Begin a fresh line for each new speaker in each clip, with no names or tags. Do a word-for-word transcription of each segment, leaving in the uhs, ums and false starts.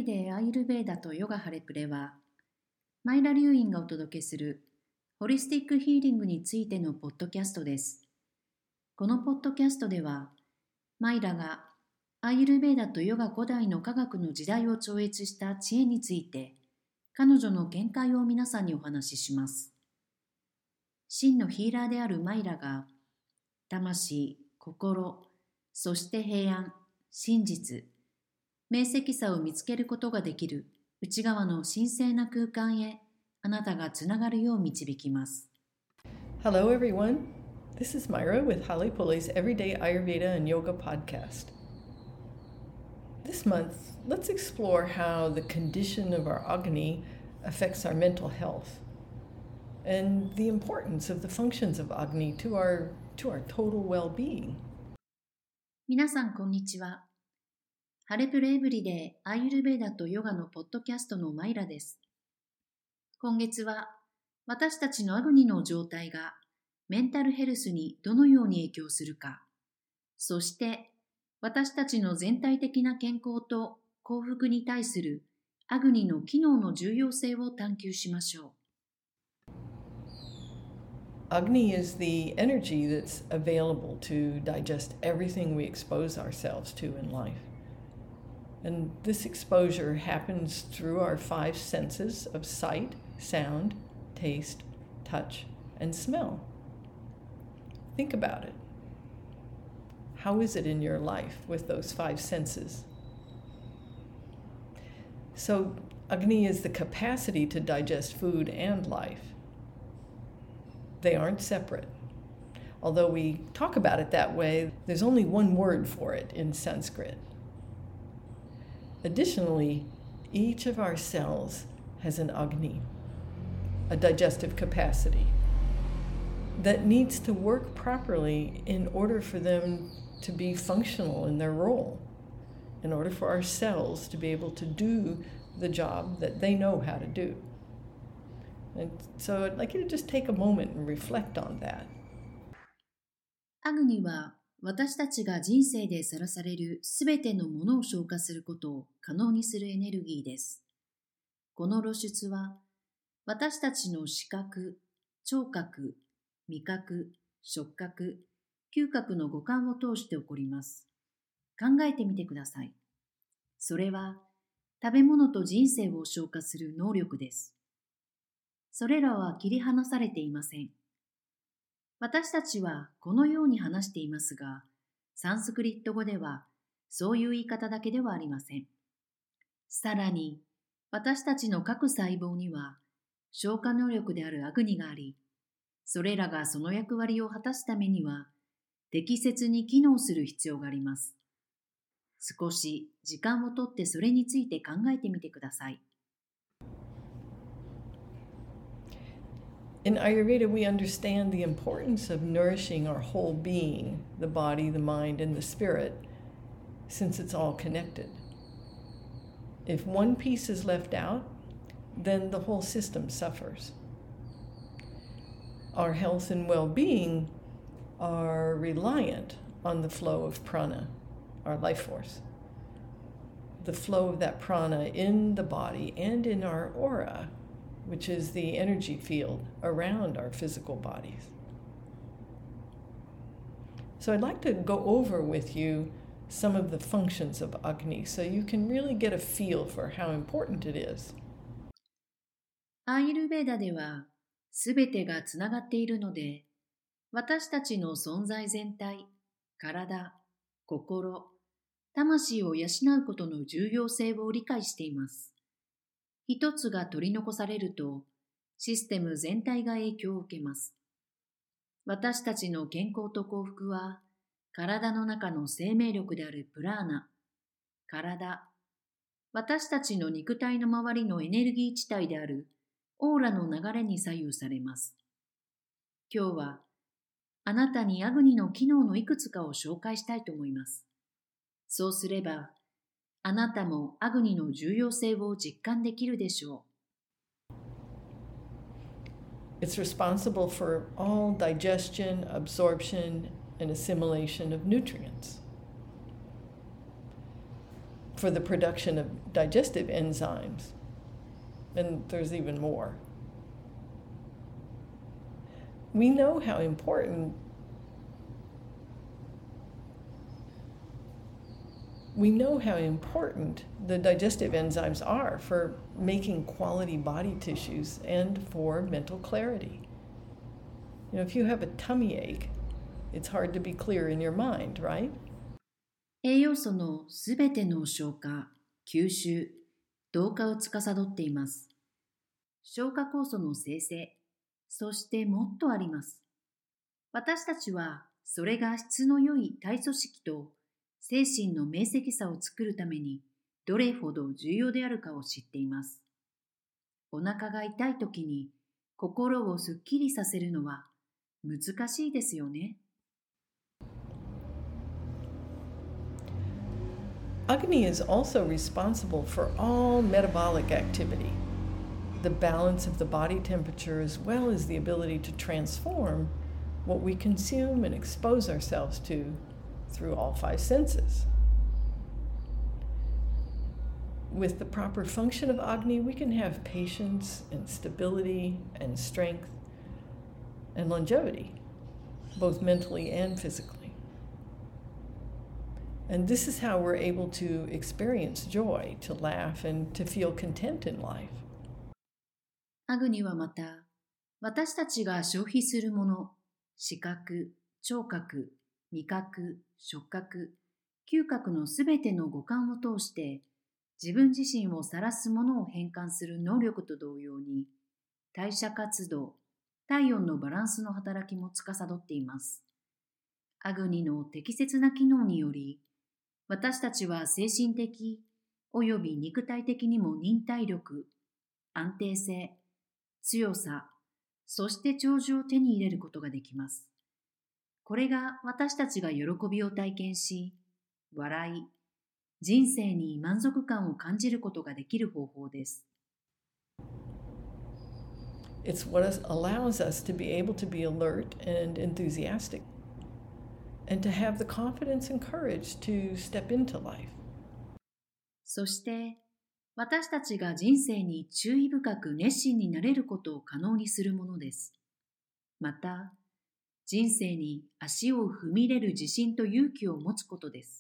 デーアーユルヴェーダとヨガハレプレは、マイラ流院がお届けするホリスティックヒーリングについてのポッドキャストです。このポッドキャストでは、マイラがアーユルヴェーダとヨガ古代の科学の時代を超越した知恵について、彼女の見解を皆さんにお話しします。真のヒーラーであるマイラが、魂、心、そして平安、真実、明晰さを見つけることができる内側の神聖な空間へあなたがつながるよう導きます。
Hello everyone, this is Myra with Holly Pulley's Everyday Ayurveda and Yoga podcast. This month, let's explore how the condition of our Agni affects our mental health and the importance of the functions of Agni to our, to our total well-being.
皆さんこんにちは。ハレプルエブリデーアーユルヴェーダとヨガのポッドキャストのマイラです。今月は私たちのアグニの状態がメンタルヘルスにどのように影響するか、そして私たちの全体的な健康と幸福に対するアグニの機能の重要性を探求しましょう。
Agni is the energy that's available to digest everything we expose ourselves to in life.And this exposure happens through our five senses of sight, sound, taste, touch, and smell. Think about it. How is it in your life with those five senses? So, Agni is the capacity to digest food and life. They aren't separate. Although we talk about it that way, there's only one word for it in Sanskrit.Additionally, each of our cells has an Agni, a digestive capacity, that needs to work properly in order for them to be functional in their role, in order for our cells to be able to do the job that they know how to do. And so I'd like you to just take a moment and reflect on that.
アグニは私たちが人生でさらされるすべてのものを消化することを可能にするエネルギーです。この露出は私たちの視覚、聴覚、味覚、触覚、嗅覚の五感を通して起こります。考えてみてください。それは食べ物と人生を消化する能力です。それらは切り離されていません。私たちはこのように話していますが、サンスクリット語ではそういう言い方だけではありません。さらに、私たちの各細胞には消化能力であるアグニがあり、それらがその役割を果たすためには適切に機能する必要があります。少し時間をとってそれについて考えてみてください。
In Ayurveda, we understand the importance of nourishing our whole being, the body, the mind, and the spirit, since it's all connected. If one piece is left out, then the whole system suffers. Our health and well-being are reliant on the flow of prana, our life force. The flow of that prana in the body and in our aura, which is the energy field around our physical bodies. So I'd like to go over with you some of the functions of Agni so you can really get a feel for how important it is.
アーユルヴェーダではすべてがつながっているので、私たちの存在全体、体、心、魂を養うことの重要性を理解しています。一つが取り残されると、システム全体が影響を受けます。私たちの健康と幸福は、体の中の生命力であるプラーナ、体、私たちの肉体の周りのエネルギー地帯であるオーラの流れに左右されます。今日は、あなたにアグニの機能のいくつかを紹介したいと思います。そうすれば、あなたもアグニの重要性を実感できるでしょう。
It's responsible for all digestion, absorption, and assimilation of nutrients. for the production of digestive enzymes. And there's even more. We know how important we know how important the digestive enzymes are for making quality body tissues and for mental clarity. You know, if you have a tummy ache, it's hard to be clear in your mind, right?
栄養素のすべての消化、吸収、同化を司っています。消化酵素の生成、そしてもっとあります。私たちはそれが質の良い体組織と精神の明晰さを作るためにどれほど重要であるかを知っています。お腹が痛いときに心をすっきりさせるのは難しいですよね。
Agni is also responsible for all metabolic activity, the balance of the body temperature as well as the ability to transform what we consume and expose ourselves to through all five senses. With the proper function of Agni, we can have patience and stability and strength and longevity, both mentally and physically. And this is how we're able to experience joy, to laugh, and to feel content in life.
アグニはまた、私たちが消費するもの、視覚、聴覚、味覚、触覚、嗅覚のすべての五感を通して、自分自身を晒すものを変換する能力と同様に、代謝活動、体温のバランスの働きも司っています。アグニの適切な機能により、私たちは精神的および肉体的にも忍耐力、安定性、強さ、そして長寿を手に入れることができます。これが私たちが喜びを体験し、笑い、人生に満足感を感じることができる方法です。
It's what allows us to be able to be alert and enthusiastic, and to have the confidence and courage to step into life.
そして、私たちが人生に注意深く熱心になれることを可能にするものです。また、人生に足を踏み入れる自信と勇気を持つことです。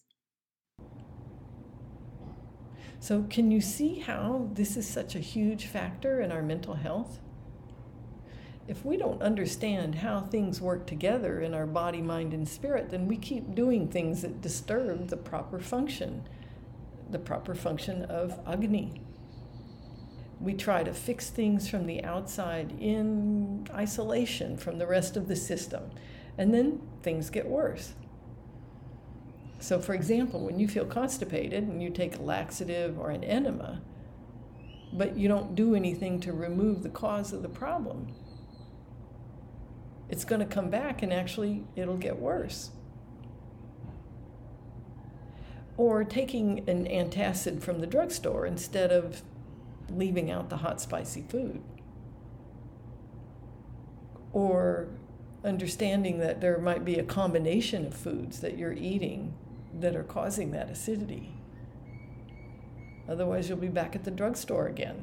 So, can you see how this is such a huge factor in our mental health? If we don't understand how things work together in our body, mind, and spirit, then we keep doing things that disturb the proper function, the proper function of Agni. We try to fix things from the outside in isolation from the rest of the system, and then things get worse. So, for example, when you feel constipated and you take a laxative or an enema, but you don't do anything to remove the cause of the problem, it's going to come back and actually it'll get worse. Or taking an antacid from the drugstore instead of leaving out the hot, spicy food. Or understanding that there might be a combination of foods that you're eating that are causing that acidity. Otherwise, you'll be back at the drugstore again.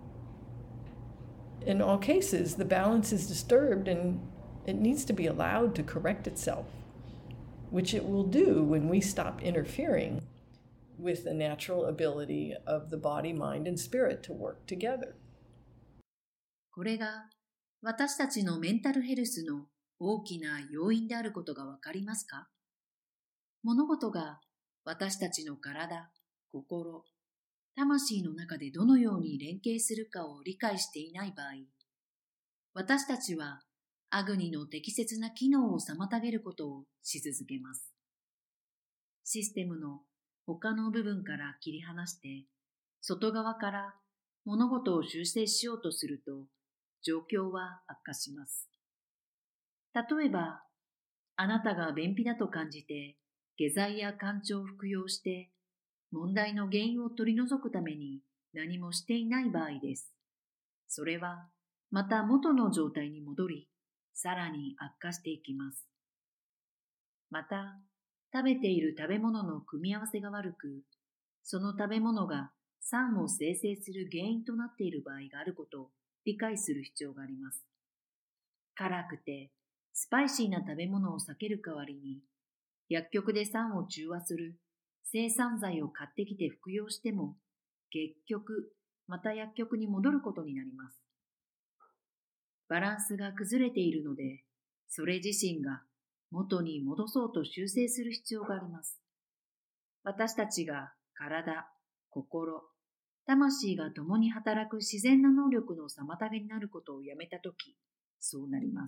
In all cases, the balance is disturbed and it needs to be allowed to correct itself, which it will do when we stop interfering with the natural ability of the body, mind, and spirit to work together.
これが私たちのメンタルヘルスの大きな要因であることがわかりますか？物事が私たちの体、心、魂の中でどのように連携するかを理解していない場合、私たちはアグニの適切な機能を妨げることをし続けます。システムの他の部分から切り離して、外側から物事を修正しようとすると、状況は悪化します。例えば、あなたが便秘だと感じて、下剤や甘茶を服用して、問題の原因を取り除くために何もしていない場合です。それは、また元の状態に戻り、さらに悪化していきます。また、食べている食べ物の組み合わせが悪く、 その食べ物が酸を生成する原因となっている場合があることを理解する必要があります。辛くてスパイシーな食べ物を避ける代わりに、薬局で酸を中和する制酸剤を買ってきて服用しても、結局また薬局に戻ることになります。バランスが崩れているので、それ自身が元に戻そうと修正する必要があります。私たちが体、心、魂が共に働く自然な能力の妨げになることをやめたとき、そうなります。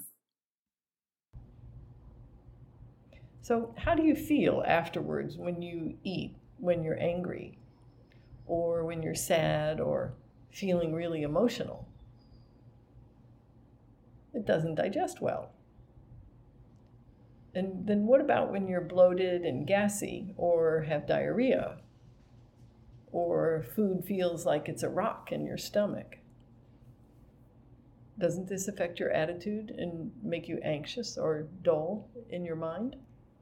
So, how do you feel afterwards when you eat, when you're angry, or when you're sad, or feeling really emotional? It doesn't digest well. And then what about when you're bloated and gassy, or have diarrhea, or food feels like it's a rock in your stomach? Doesn't this affect your attitude and make you anxious or dull in your mind?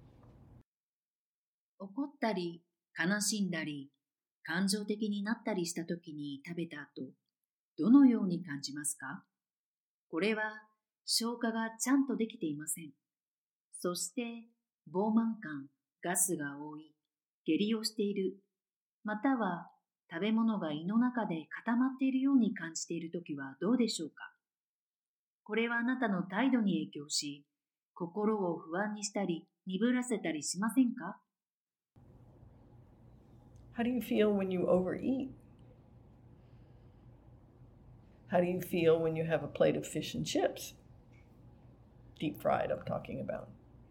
怒ったり、悲しんだり、感情的になったりしたときに食べた後、どのように感じますか？これは消化がちゃんとできていません。そして、膨満感、ガスが多い、下痢をしている、または食べ物が胃の中で固まっているように感じているときはどうでしょうか？これはあなたの態度に影響し、心を不安にしたり、鈍らせたりしませんか？
How do you feel when you overeat? How do you feel when you have a plate of fish and chips? Deep fried, I'm talking about.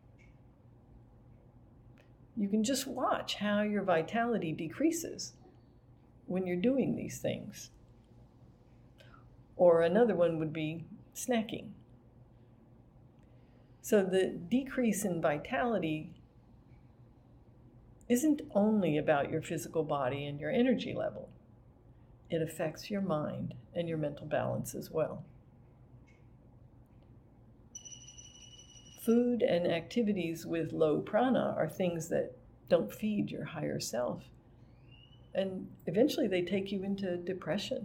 You can just watch how your vitality decreases when you're doing these things. Or another one would be snacking. So the decrease in vitality isn't only about your physical body and your energy level. It affects your mind and your mental balance as well. Food and activities with low prana are things that don't feed your higher self. And eventually they take you into depression.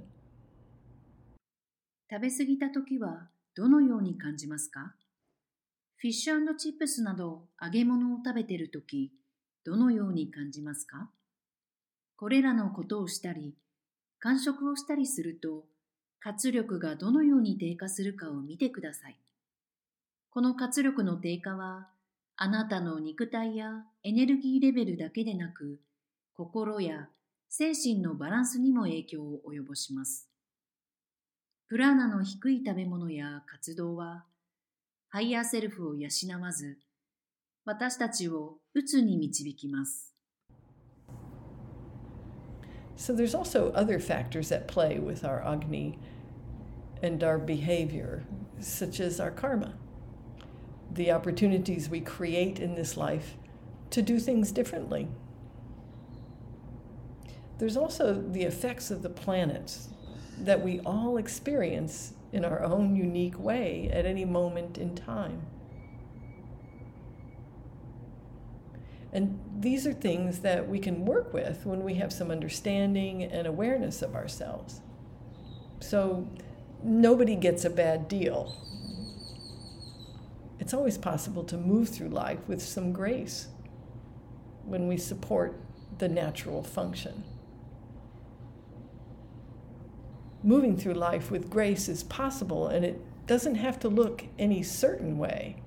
食べ過ぎたときはどのように感じますか？フィッシュ&チップスなど揚げ物を食べているとき、どのように感じますか？これらのことをしたり、間食をしたりすると、活力がどのように低下するかを見てください。この活力の低下は、あなたの肉体やエネルギーレベルだけでなく、心や精神のバランスにも影響を及ぼします。プラーナの低い食べ物や活動は、ハイヤーセルフを養わず、私たちを鬱に導きます。
So there's also other factors at play with our Agni and our behavior, such as our karma, the opportunities we create in this life to do things differently. There's also the effects of the planets that we all experience in our own unique way at any moment in time. And these are things that we can work with when we have some understanding and awareness of ourselves. So nobody gets a bad deal. It's always possible to move through life with some grace when we support the natural function. Moving through life with grace is possible, and it doesn't have to look any certain way.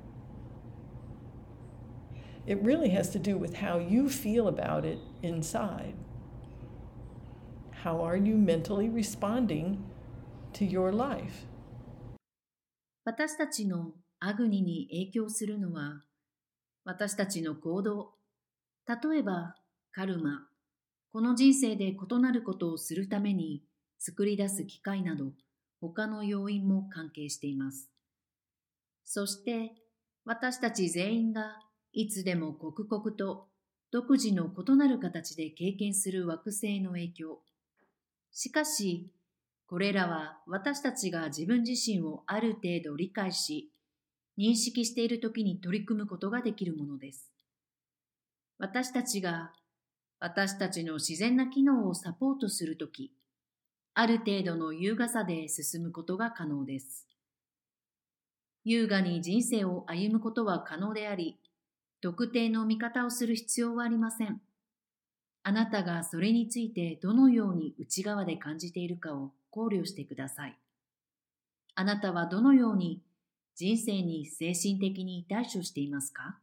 It really has to do with how you feel about it inside. How are you mentally responding to your life?
私たちのアグニに影響するのは、私たちの行動、例えばカルマ、この人生で異なることをするために作り出す機会など、他の要因も関係しています。そして、私たち全員がいつでも刻々と独自の異なる形で経験する惑星の影響。しかし、これらは私たちが自分自身をある程度理解し、認識しているときに取り組むことができるものです。私たちが私たちの自然な機能をサポートするとき、ある程度の優雅さで進むことが可能です。優雅に人生を歩むことは可能であり、特定の見方をする必要はありません。あなたがそれについてどのように内側で感じているかを考慮してください。あなたはどのように人生に精神的に対処していますか？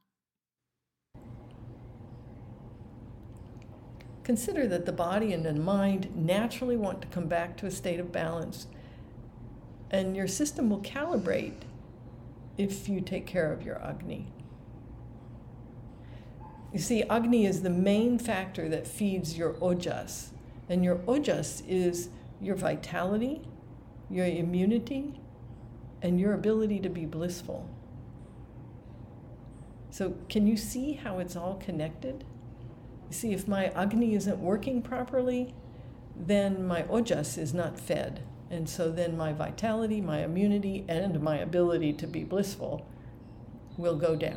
Consider that the body and the mind naturally want to come back to a state of balance, and your system will calibrate if you take care of your Agni. You see, Agni is the main factor that feeds your Ojas, and your Ojas is your vitality, your immunity, and your ability to be blissful. So can you see how it's all connected? You see, if my Agni isn't working properly, then my Ojas is not fed. And so then my vitality, my immunity, and my ability to be blissful will go down.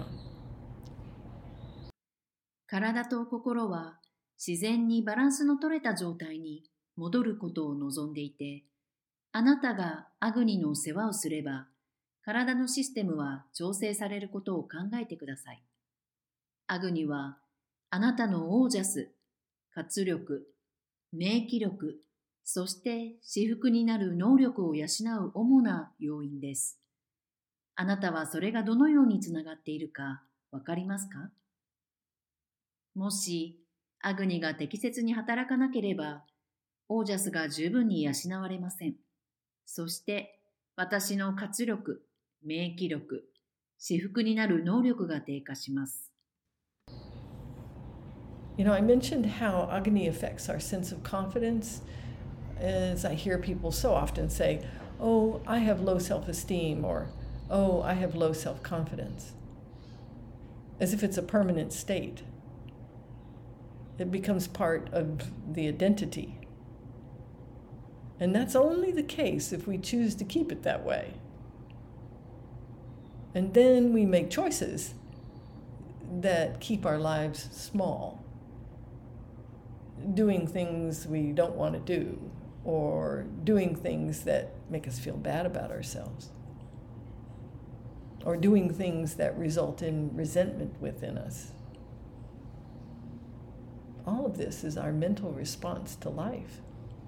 体と心は自然にバランスの取れた状態に戻ることを望んでいて、あなたがアグニの世話をすれば、体のシステムは調整されることを考えてください。アグニはあなたのオージャス、活力、免疫力、そして至福になる能力を養う主な要因です。あなたはそれがどのようにつながっているかわかりますか？もしアグニが適切に働かなければ、オージャスが十分に養われません。そして私の活力、免疫力、至福になる能力が低下します。
You know, I mentioned how Agni affects our sense of confidence, as I hear people so often say, oh, I have low self-esteem, or oh, I have low self-confidence, as if it's a permanent state. It becomes part of the identity. And that's only the case if we choose to keep it that way. And then we make choices that keep our lives small, doing things we don't want to do, or doing things that make us feel bad about ourselves, or doing things that result in resentment within us. All of this is our mental response to life.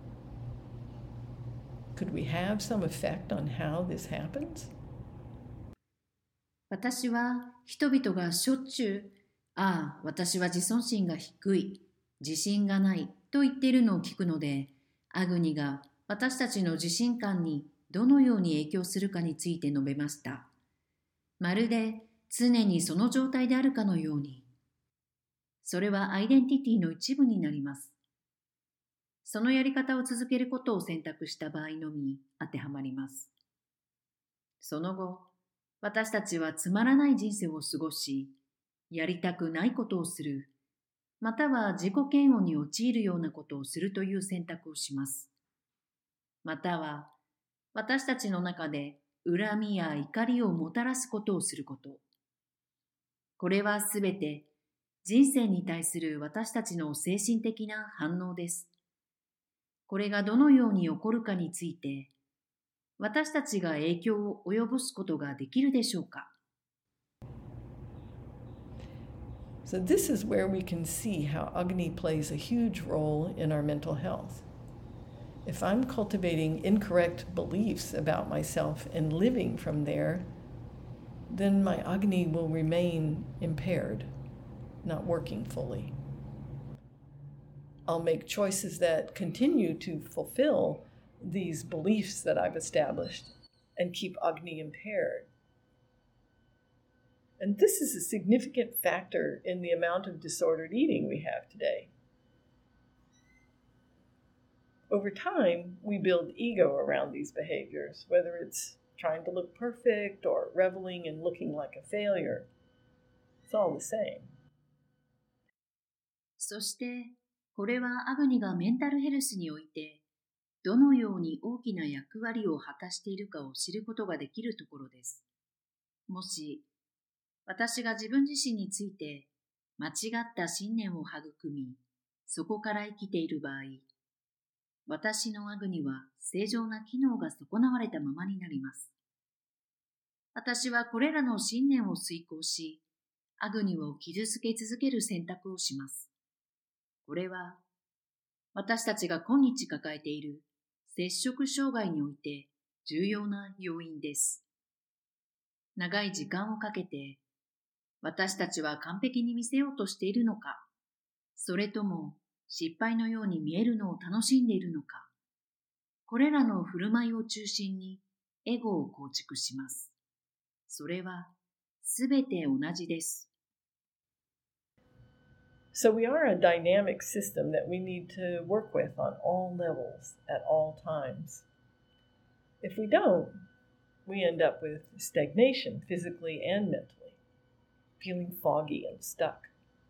Could we have some effect on how this happens?
私は人々がしょっちゅう、ああ、私は自尊心が低い、自信がないと言っているのを聞くので、アグニが私たちの自信感にどのように影響するかについて述べました。まるで常にその状態であるかのように。それはアイデンティティの一部になります。そのやり方を続けることを選択した場合のみ当てはまります。その後、私たちはつまらない人生を過ごし、やりたくないことをする、または自己嫌悪に陥るようなことをするという選択をします。または、私たちの中で恨みや怒りをもたらすことをすること。これはすべて人生に対する私たちの精神的な反応です。これがどのように起こるかについて、私たちが影響を及ぼすことができるでしょうか？
So this is where we can see how Agni plays a huge role in our mental health. If I'm cultivating incorrect beliefs about myself and living from there, then my Agni will remain impaired, not working fully. I'll make choices that continue to fulfill these beliefs that I've established and keep Agni impaired. And this is a significant factor in the amount of disordered eating we have today. Over time, we build ego around these behaviors, whether it's trying to look perfect or reveling in looking like a failure. It's all the same.
そして、これはアグニがメンタルヘルスにおいて、どのように大きな役割を果たしているかを知ることができるところです。もし、私が自分自身について間違った信念を育み、 そこから生きている場合、私のアグニは正常な機能が損なわれたままになります。私はこれらの信念を遂行し、アグニを傷つけ続ける選択をします。これは、私たちが今日抱えている摂食障害において重要な要因です。長い時間をかけて、私たちは完璧に見せようとしているのか、それとも失敗のように見えるのを楽しんでいるのか、これらの振る舞いを中心にエゴを構築します。それはすべて同じです。
So we are a dynamic system that we need to work with on all levels at all times. If we don't, we end up with stagnation physically and mentally, feeling foggy and stuck.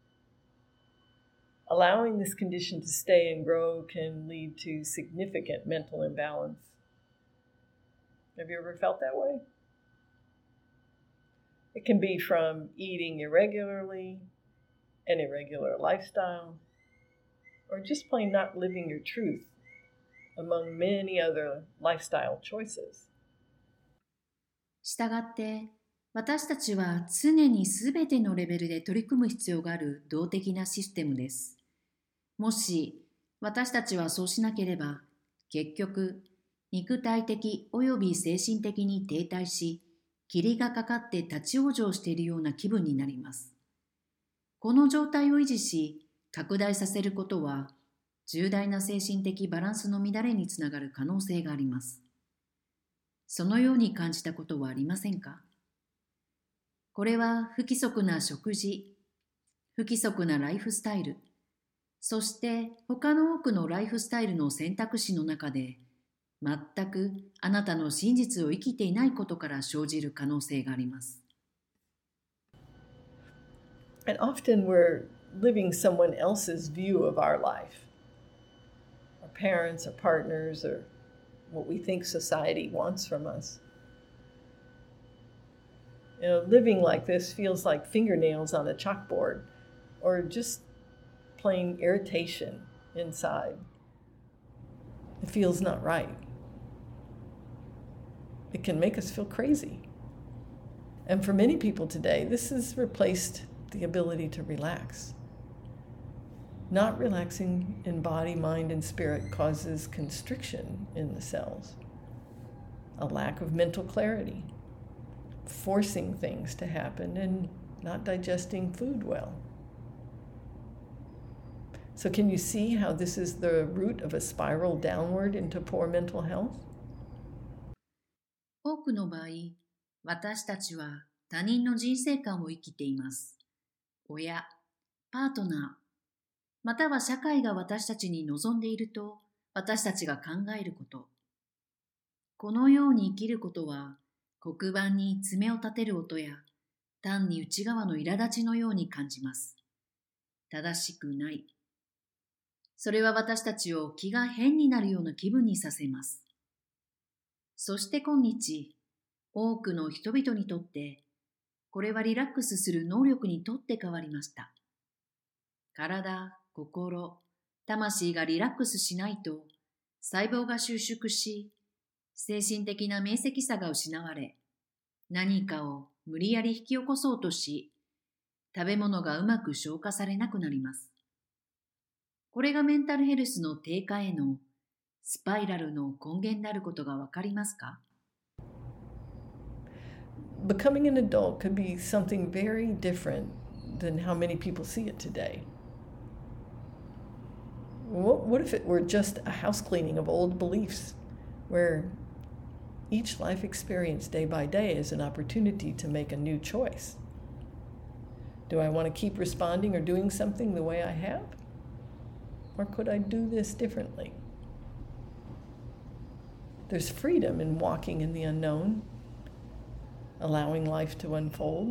Allowing this condition to stay and grow can lead to significant mental imbalance. Have you ever felt that way? It can be from eating irregularly, an irregular lifestyle, or just plain not living your truth, among many other lifestyle choices.
したがって、私たちは常にすべてのレベルで取り組む必要がある動的なシステムです。もし私たちはそうしなければ、結局、肉体的及び精神的に停滞し、霧がかかって立ち往生しているような気分になります。この状態を維持し、拡大させることは、重大な精神的バランスの乱れにつながる可能性があります。そのように感じたことはありませんか？これは不規則な食事、不規則なライフスタイル、そして他の多くのライフスタイルの選択肢の中で、全くあなたの真実を生きていないことから生じる可能性があります。
And often we're living someone else's view of our life. Our parents, our partners, or what we think society wants from us. You know, living like this feels like fingernails on a chalkboard, or just plain irritation inside. It feels not right. It can make us feel crazy. And for many people today, this has replaced the ability to relax. Not relaxing in body, mind, and spirit causes constriction in the cells, a lack of mental clarity, forcing things to happen, and not digesting food well. So can you see how this is the root of a spiral downward into poor mental health?
多くの場合、私たちは他人の人生観を生きています。親、パートナー、または社会が私たちに望んでいると私たちが考えること。このように生きることは黒板に爪を立てる音や単に内側の苛立ちのように感じます。正しくない。それは私たちを気が変になるような気分にさせます。そして今日、多くの人々にとってこれはリラックスする能力にとって変わりました。体、心、魂がリラックスしないと細胞が収縮し、精神的な明晰さが失われ、何かを無理やり引き起こそうとし、食べ物がうまく消化されなくなります。これがメンタルヘルスの低下へのスパイラルの根源であることがわかりますか
？Becoming an adult could be something very different than how many people see it today. What, what if it were just a house cleaning of old beliefs, where each life experience day by day is an opportunity to make a new choice? Do I want to keep responding or doing something the way I have? Or could I do this differently? There's freedom in walking in the unknown.Allowing life to unfold.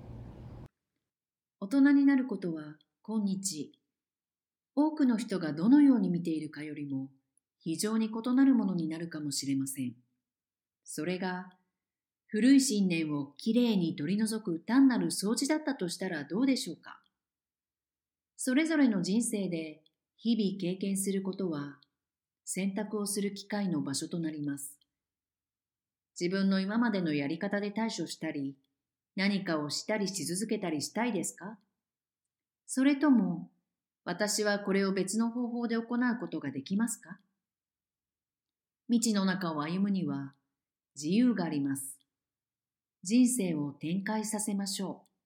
大人になることは今日、多くの人がどのように見ているかよりも非常に異なるものになるかもしれません。それが古い信念をきれいに取り除く単なる掃除だったとしたらどうでしょうか。それぞれの人生で日々経験することは選択をする機会の場所となります。自分の今までのやり方で対処したり、何かをしたりし続けたりしたいですか？それとも、私はこれを別の方法で行うことができますか？未知の中を歩むには自由があります。人生を展開させましょう。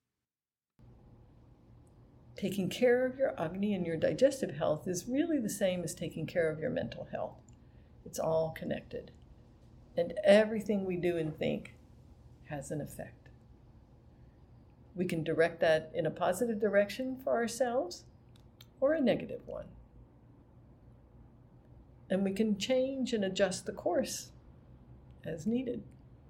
Taking care of your Agni and your digestive health is really the same as taking care of your mental health. It's all connected. And everything we do and think has an effect. We can direct that in a positive direction for ourselves or a negative one. And we can change and adjust the course as needed.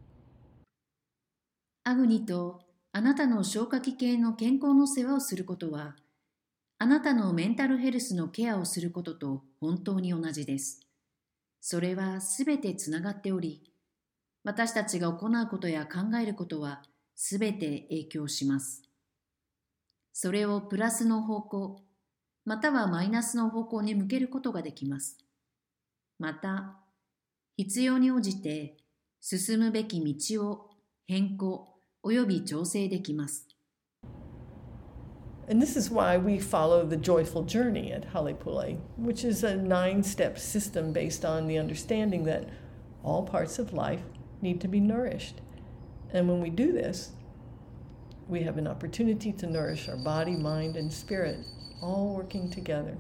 アグニとあなたの消化器系の健康の世話をすることは、あなたのメンタルヘルスのケアをすることと本当に同じです。それはすべてつながっており、私たちが行うことや考えることはすべて影響します。それをプラスの方向、またはマイナスの方向に向けることができます。また、必要に応じて進むべき道を変更および調整できます。
And this is why we follow the joyful journey at Halepule, which is a nine-step system based on the understanding that all parts of life need to be nourished. And when we do this, we have an opportunity to nourish our body, mind, and spirit, all working together.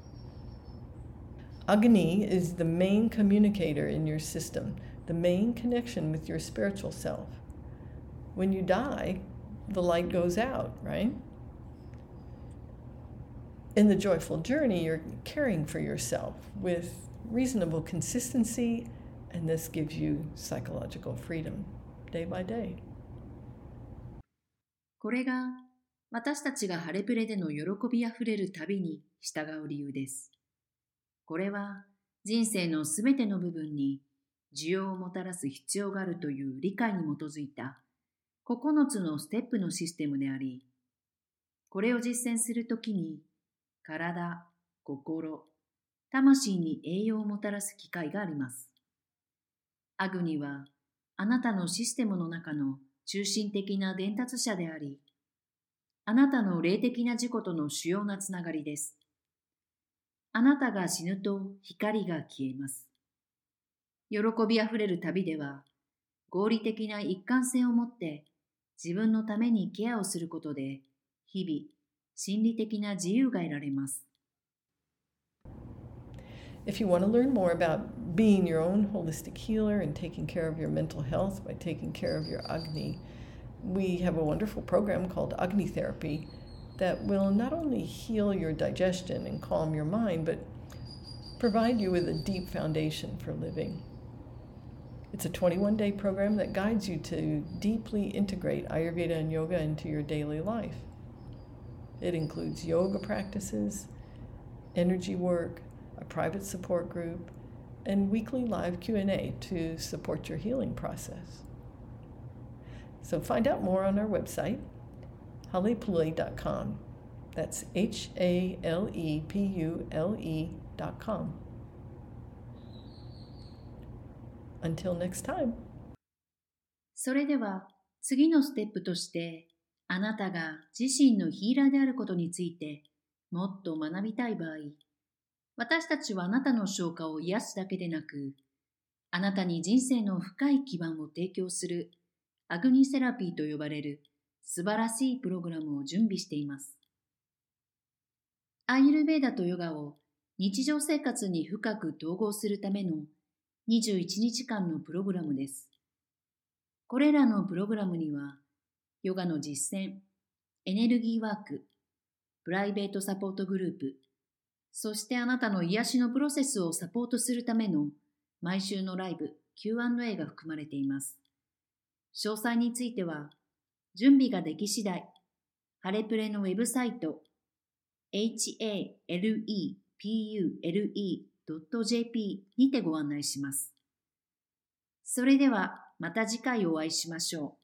Agni is the main communicator in your system, the main connection with your spiritual self. When you die, the light goes out, right? In the joyful journey, you're caring for yourself with reasonable consistency, and this gives you psychological freedom day by day.
これが私たちがハレプレでの喜びあふれる旅に従う理由です。これは人生のすべての部分に需要をもたらす必要があるという理解に基づいたここのつのステップのシステムであり、これを実践するときに体、心、魂に栄養をもたらす機会があります。アグニはあなたのシステムの中の中心的な伝達者であり、あなたの霊的な自己との主要なつながりです。あなたが死ぬと光が消えます。喜びあふれる旅では、合理的な一貫性を持って自分のためにケアをすることで、日々、心理的な自由が得られます。
If you want to learn more about being your own holistic healer and taking care of your mental health by taking care of your Agni, we have a wonderful program called Agni Therapy that will not only heal your digestion and calm your mind, but provide you with a deep foundation for living. It's a twenty-one day program that guides you to deeply integrate Ayurveda and yoga into your daily life. It includes yoga practices, energy work, a private support group, and weekly live Q and A to support your healing process. So find out more on our website, halepule dot com. That's H A L E P U L E dot com. Until next time.
それでは次のステップとして、あなたが自身のヒーラーであることについてもっと学びたい場合、私たちはあなたの消化を癒すだけでなく、あなたに人生の深い基盤を提供するアグニセラピーと呼ばれる素晴らしいプログラムを準備しています。アーユルヴェーダとヨガを日常生活に深く統合するためのにじゅういちにちかんのプログラムです。これらのプログラムには、ヨガの実践、エネルギーワーク、プライベートサポートグループ、そしてあなたの癒しのプロセスをサポートするための毎週のライブ、キューアンドエー が含まれています。詳細については、準備ができ次第、ハレプレのウェブサイト、エイチエーエルイーピーユーエルイードットジェーピー にてご案内します。それではまた次回お会いしましょう。